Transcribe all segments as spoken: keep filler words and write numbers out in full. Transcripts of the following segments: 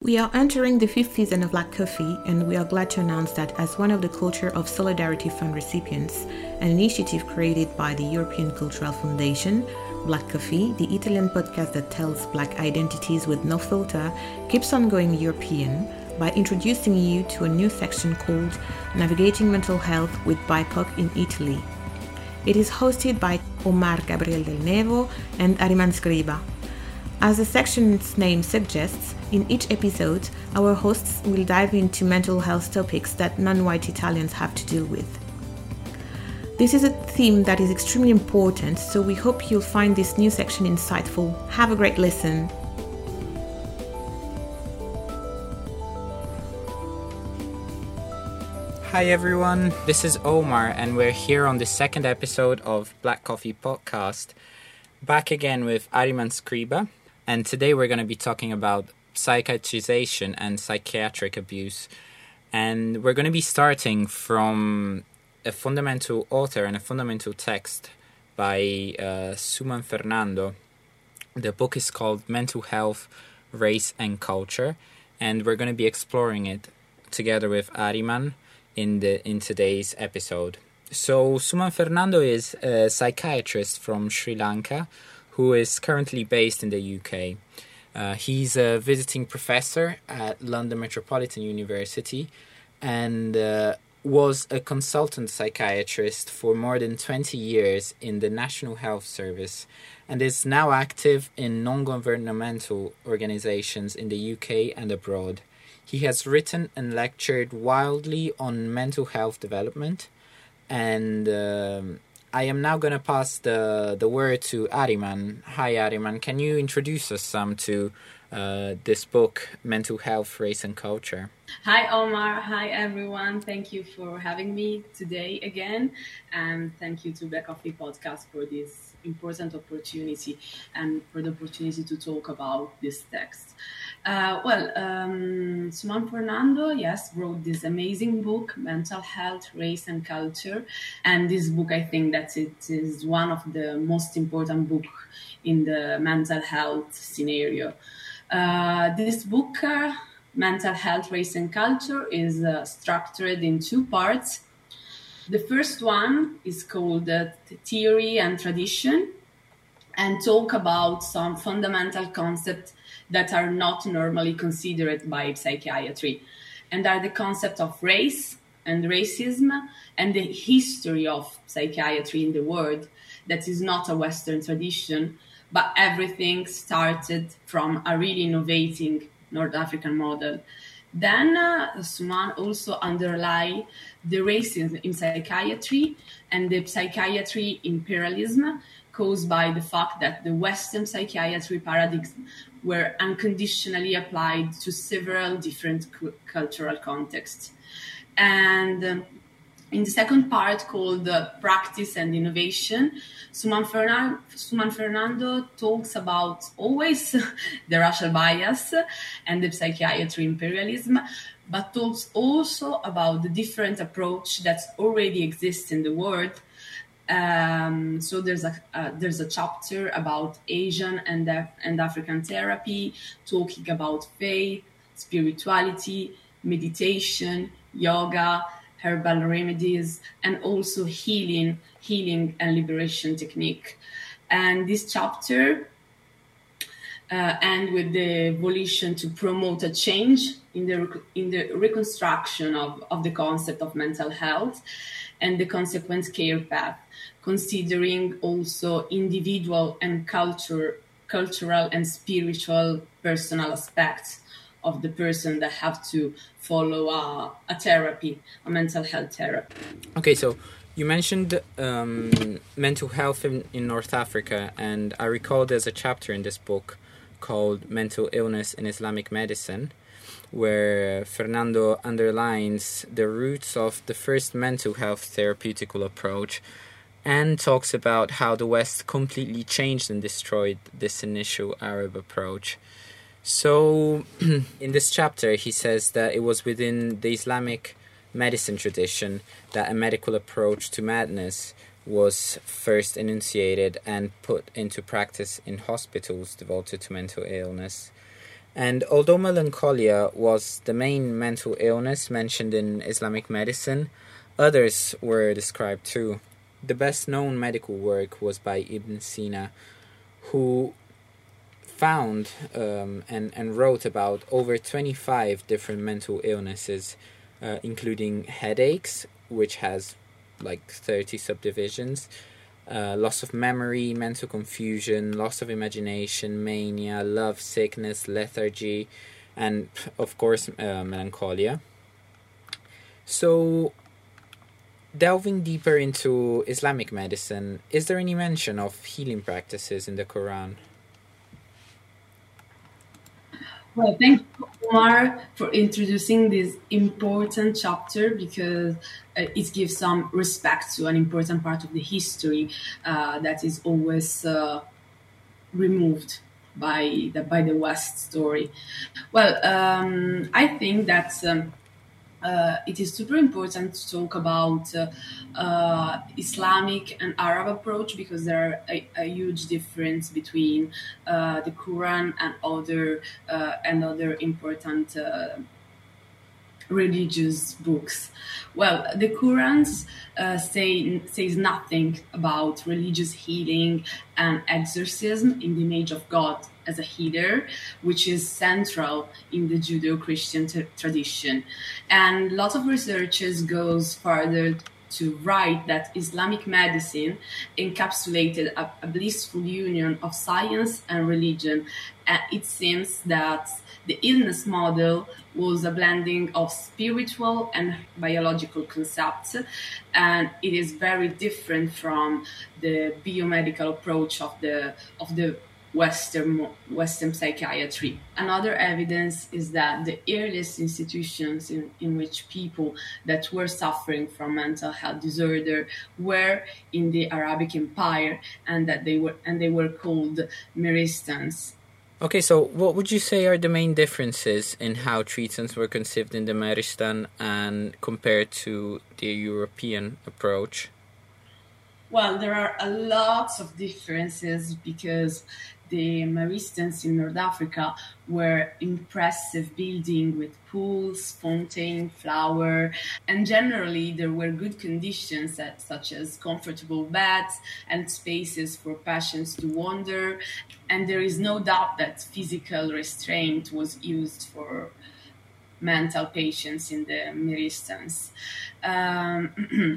We are entering the fifth season of Black Coffee, and we are glad to announce that as one of the Culture of Solidarity Fund recipients, an initiative created by the European Cultural Foundation, Black Coffee, the Italian podcast that tells Black identities with no filter, keeps on going European by introducing you to a new section called Navigating Mental Health with B I P O C in Italy. It is hosted by Omar Gabriel Del Nevo and Ariman Scriba. As the section's name suggests, in each episode, our hosts will dive into mental health topics that non-white Italians have to deal with. This is a theme that is extremely important, so we hope you'll find this new section insightful. Have a great listen. Hi everyone, this is Omar and we're here on the second episode of Black Coffee Podcast, back again with Ariman Scriba, and today we're going to be talking about psychiatrization and psychiatric abuse, and we're going to be starting from a fundamental author and a fundamental text by uh, Suman Fernando. The book is called Mental Health, Race and Culture, and we're going to be exploring it together with Ariman in the in today's episode. So Suman Fernando is a psychiatrist from Sri Lanka who is currently based in the U K. Uh, he's a visiting professor at London Metropolitan University and uh, was a consultant psychiatrist for more than twenty years in the National Health Service and is now active in non-governmental organizations in the U K and abroad. He has written and lectured widely on mental health development, and um, I am now going to pass the, the word to Ariman. Hi Ariman, can you introduce us some to uh, this book, Mental Health, Race and Culture? Hi Omar, hi everyone, thank you for having me today again, and thank you to Black Coffee Podcast for this important opportunity and for the opportunity to talk about this text. Uh, well, um, Suman Fernando, yes, wrote this amazing book, Mental Health, Race and Culture. And this book, I think that it is one of the most important books in the mental health scenario. Uh, this book, uh, Mental Health, Race and Culture, is uh, structured in two parts. The first one is called uh, Theory and Tradition, and talk about some fundamental concepts that are not normally considered by psychiatry, and are the concept of race and racism and the history of psychiatry in the world that is not a Western tradition, but everything started from a really innovating North African model. Then uh, Suman also underlie the racism in psychiatry and the psychiatry imperialism caused by the fact that the Western psychiatry paradigms were unconditionally applied to several different cu- cultural contexts. And um, in the second part, called uh, Practice and Innovation, Suman, Fernan- Suman Fernando talks about always the racial bias and the psychiatry imperialism, but talks also about the different approach that already exists in the world. Um, so there's a uh, there's a chapter about Asian and Af- and African therapy, talking about faith, spirituality, meditation, yoga, herbal remedies, and also healing, healing and liberation technique. And this chapter uh, ends with the volition to promote a change in the rec- in the reconstruction of, of the concept of mental health and the consequent care path, considering also individual and culture, cultural and spiritual personal aspects of the person that have to follow a, a therapy, a mental health therapy. Okay, so you mentioned um, mental health in, in North Africa, and I recall there's a chapter in this book called Mental Illness in Islamic Medicine, where Fernando underlines the roots of the first mental health therapeutical approach and talks about how the West completely changed and destroyed this initial Arab approach. So, in this chapter, he says that it was within the Islamic medicine tradition that a medical approach to madness was first enunciated and put into practice in hospitals devoted to mental illness. And although melancholia was the main mental illness mentioned in Islamic medicine, others were described too. The best known medical work was by Ibn Sina, who found um, and, and wrote about over twenty-five different mental illnesses, uh, including headaches, which has like thirty subdivisions, uh, loss of memory, mental confusion, loss of imagination, mania, love sickness, lethargy, and of course uh, melancholia. So, delving deeper into Islamic medicine, is there any mention of healing practices in the Quran? Well, thank you, Omar, for introducing this important chapter, because uh, it gives some respect to an important part of the history uh, that is always uh, removed by the by the West story. Well, um, I think that um, uh, it is super important to talk about uh, uh, Islamic and Arab approach, because there are a, a huge difference between uh, the Quran and other uh, and other important uh, religious books. Well, the Quran uh, say, says nothing about religious healing and exorcism in the image of God as a healer, which is central in the Judeo-Christian t- tradition. And lots of researchers goes further to write that Islamic medicine encapsulated a, a blissful union of science and religion. And it seems that the illness model was a blending of spiritual and biological concepts, and it is very different from the biomedical approach of the of the Western Western psychiatry. Another evidence is that the earliest institutions in, in which people that were suffering from mental health disorder were in the Arabic Empire, and that they were and they were called Meristans. Okay, so what would you say are the main differences in how treatments were conceived in the Meristan and compared to the European approach? Well, there are a lot of differences, because the Meristans in North Africa were impressive buildings with pools, fountain, flower, and generally there were good conditions that, such as comfortable beds and spaces for patients to wander. And there is no doubt that physical restraint was used for mental patients in the Meristans. Um,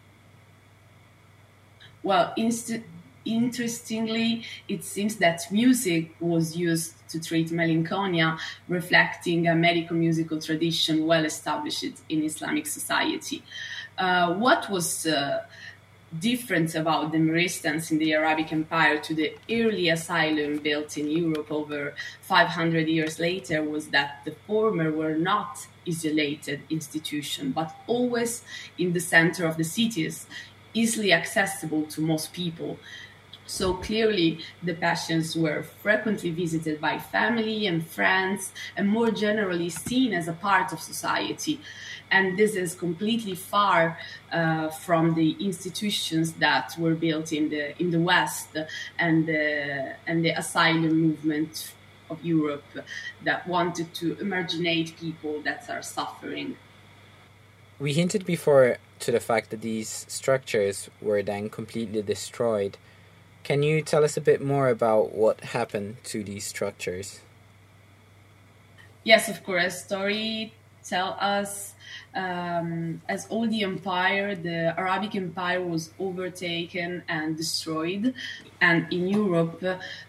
well, inst- interestingly, it seems that music was used to treat melancholia, reflecting a medical musical tradition well established in Islamic society. Uh, what was uh, different about the Meristans in the Arabic Empire to the early asylum built in Europe over five hundred years later was that the former were not isolated institutions, but always in the center of the cities, easily accessible to most people. So clearly, the patients were frequently visited by family and friends, and more generally seen as a part of society. And this is completely far uh, from the institutions that were built in the in the West and the and the asylum movement of Europe that wanted to emarginate people that are suffering. We hinted before to the fact that these structures were then completely destroyed. Can you tell us a bit more about what happened to these structures? Yes, of course. Story tell us um, as all the empire, the Arabic Empire was overtaken and destroyed. And in Europe,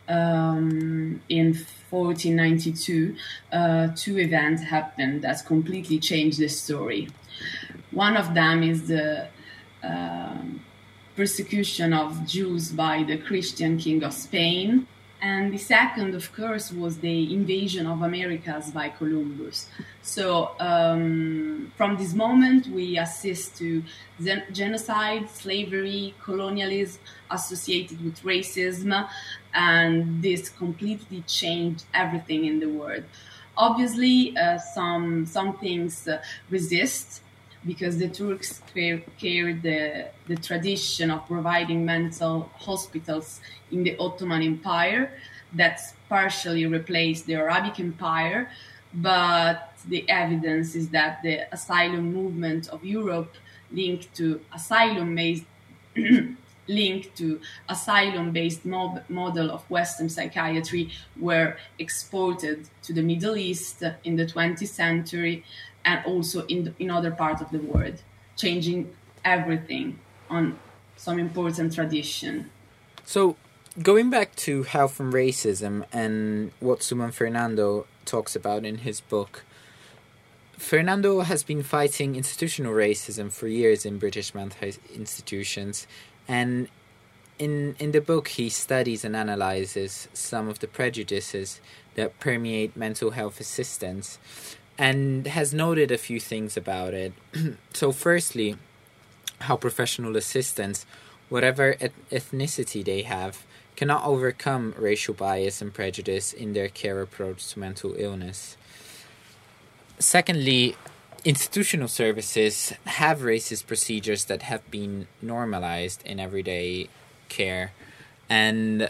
um, in fourteen ninety-two, uh, two events happened that completely changed the story. One of them is the um, persecution of Jews by the Christian king of Spain. And the second, of course, was the invasion of Americas by Columbus. So um, from this moment, we assist to gen- genocide, slavery, colonialism associated with racism, and this completely changed everything in the world. Obviously, uh, some, some things uh, resist, because the Turks carried the, the tradition of providing mental hospitals in the Ottoman Empire. that's partially replaced the Arabic Empire, but the evidence is that the asylum movement of Europe linked to asylum-based linked to asylum-based mob- model of Western psychiatry were exported to the Middle East in the twentieth century and also in, the, in other parts of the world, changing everything on some important tradition. So, going back to Health and Racism and what Suman Fernando talks about in his book, Fernando has been fighting institutional racism for years in British mental health institutions, and in in the book he studies and analyzes some of the prejudices that permeate mental health assistance, and has noted a few things about it. So firstly, how professional assistants, whatever ethnicity they have, cannot overcome racial bias and prejudice in their care approach to mental illness. Secondly, institutional services have racist procedures that have been normalized in everyday care, and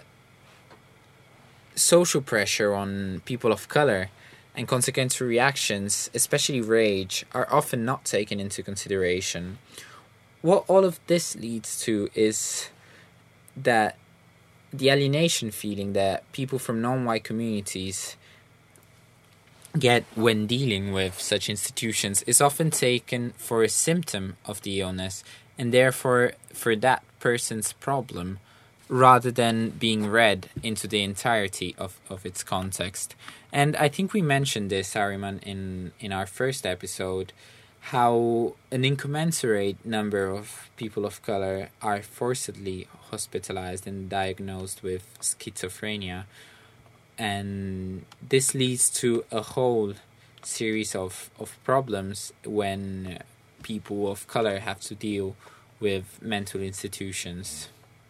social pressure on people of color and consequent reactions, especially rage, are often not taken into consideration. What all of this leads to is that the alienation feeling that people from non-white communities get when dealing with such institutions is often taken for a symptom of the illness, and therefore for that person's problem, rather than being read into the entirety of, of its context. And I think we mentioned this, Ariman, in, in our first episode, how an incommensurate number of people of color are forcibly hospitalized and diagnosed with schizophrenia. And this leads to a whole series of, of problems when people of color have to deal with mental institutions.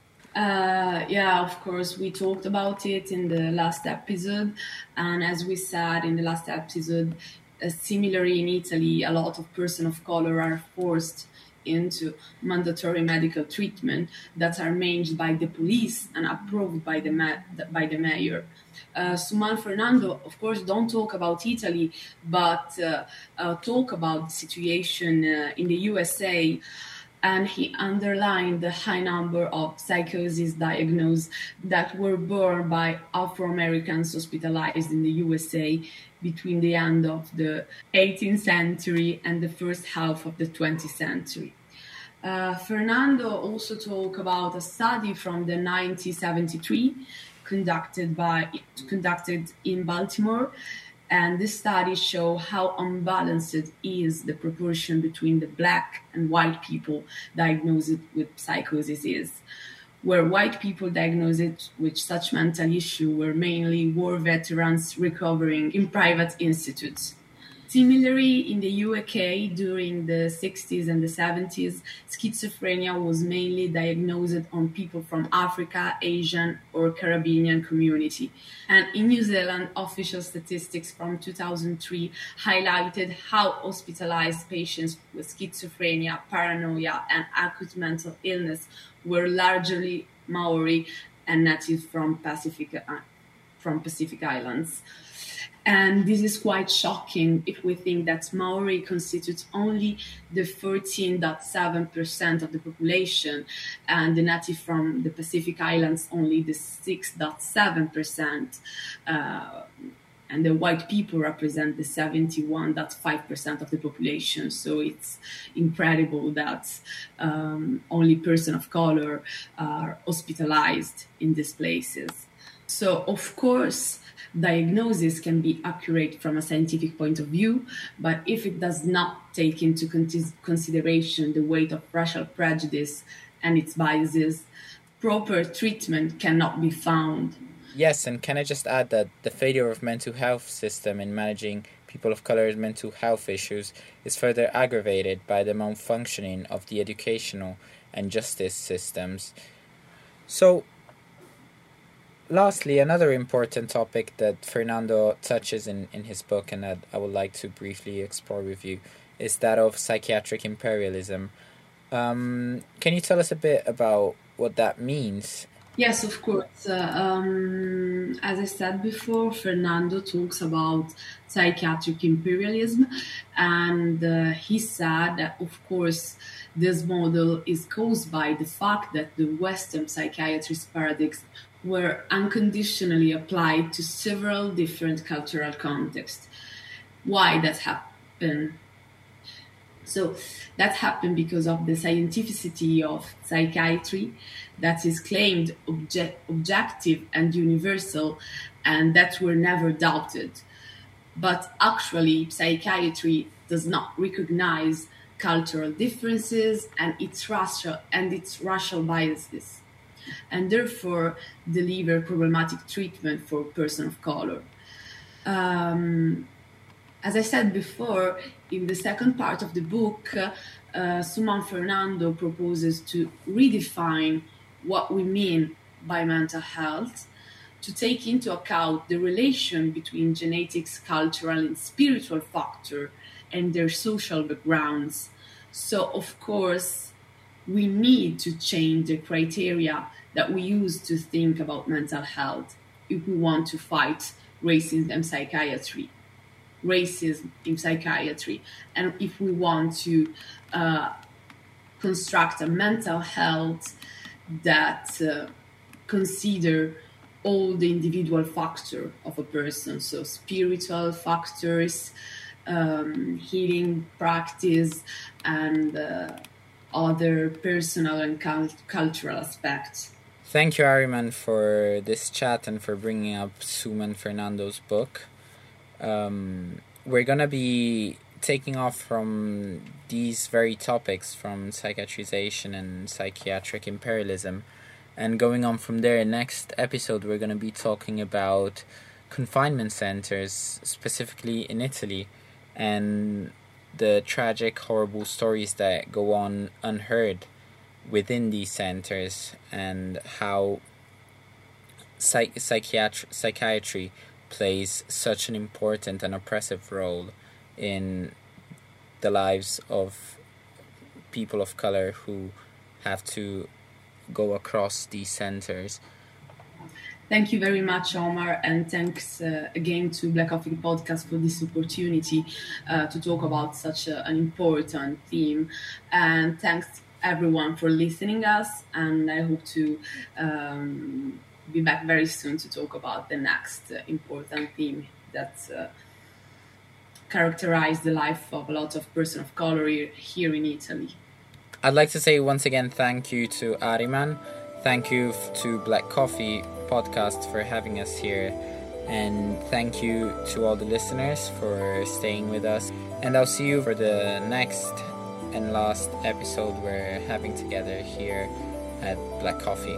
Uh, yeah, of course, we talked about it in the last episode. And as we said in the last episode, uh, similarly in Italy, a lot of persons of color are forced into mandatory medical treatment that are managed by the police and approved by the ma- by the mayor. Uh, Suman Fernando, of course, don't talk about Italy, but uh, uh, talk about the situation uh, in the U S A, and he underlined the high number of psychosis diagnosed that were borne by Afro-Americans hospitalized in the U S A between the end of the eighteenth century and the first half of the twentieth century. Uh, Fernando also talked about a study from the nineteen seventy-three conducted by conducted in Baltimore, and this study show how unbalanced is the proportion between the black and white people diagnosed with psychosis is, where white people diagnosed with such mental issue were mainly war veterans recovering in private institutes. Similarly, in the U K, during the sixties and the seventies, schizophrenia was mainly diagnosed on people from Africa, Asian, or Caribbean community. And in New Zealand, official statistics from two thousand three highlighted how hospitalized patients with schizophrenia, paranoia, and acute mental illness were largely Maori and native from Pacific, from Pacific Islands. And this is quite shocking if we think that Maori constitutes only the fourteen point seven percent of the population, and the native from the Pacific Islands only the six point seven percent, uh, and the white people represent the seventy-one point five percent of the population. So it's incredible that um, only persons of color are hospitalized in these places. So, of course, diagnosis can be accurate from a scientific point of view, but if it does not take into consideration the weight of racial prejudice and its biases, proper treatment cannot be found. Yes, and can I just add that the failure of mental health system in managing people of color's mental health issues is further aggravated by the malfunctioning of the educational and justice systems. So, lastly, another important topic that Fernando touches in, in his book and that I would like to briefly explore with you is that of psychiatric imperialism. Um, can you tell us a bit about what that means Yes, of course. Uh, um, as I said before, Fernando talks about psychiatric imperialism, and uh, he said that, of course, this model is caused by the fact that the Western psychiatrist paradigms were unconditionally applied to several different cultural contexts. Why that happened? So that happened because of the scientificity of psychiatry that is claimed obje- objective and universal, and that were never doubted. But actually, psychiatry does not recognize cultural differences and its racial and its racial biases, and therefore deliver problematic treatment for persons of color. Um, As I said before, in the second part of the book, uh, Suman Fernando proposes to redefine what we mean by mental health, to take into account the relation between genetics, cultural, and spiritual factor and their social backgrounds. So, of course, we need to change the criteria that we use to think about mental health if we want to fight racism and psychiatry. racism in psychiatry, and if we want to uh, construct a mental health that uh, consider all the individual factor of a person, so spiritual factors, um, healing practice, and uh, other personal and cult- cultural aspects. Thank you, Ariman, for this chat and for bringing up Suman Fernando's book. Um, we're gonna be taking off from these very topics, from psychiatrization and psychiatric imperialism, and going on from there. Next episode, we're gonna be talking about confinement centers, specifically in Italy, and the tragic, horrible stories that go on unheard within these centers, and how psych- psychiatry psychiatry plays such an important and oppressive role in the lives of people of color who have to go across these centers. Thank you very much, Omar, and thanks uh, again to Black Coffee Podcast for this opportunity uh, to talk about such a, an important theme. And thanks everyone for listening us, and I hope to um, be back very soon to talk about the next uh, important theme that uh, characterized the life of a lot of persons of color here in Italy. I'd like to say once again thank you to Ariman, thank you to Black Coffee Podcast for having us here, and thank you to all the listeners for staying with us, and I'll see you for the next and last episode we're having together here at Black Coffee.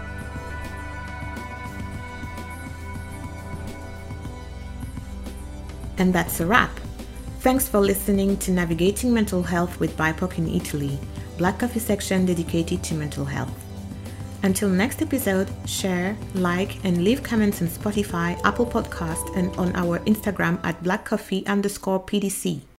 And that's a wrap. Thanks for listening to Navigating Mental Health with B I P O C in Italy, Black Coffee section dedicated to mental health. Until next episode, share, like, and leave comments on Spotify, Apple Podcast, and on our Instagram at blackcoffee underscore PDC.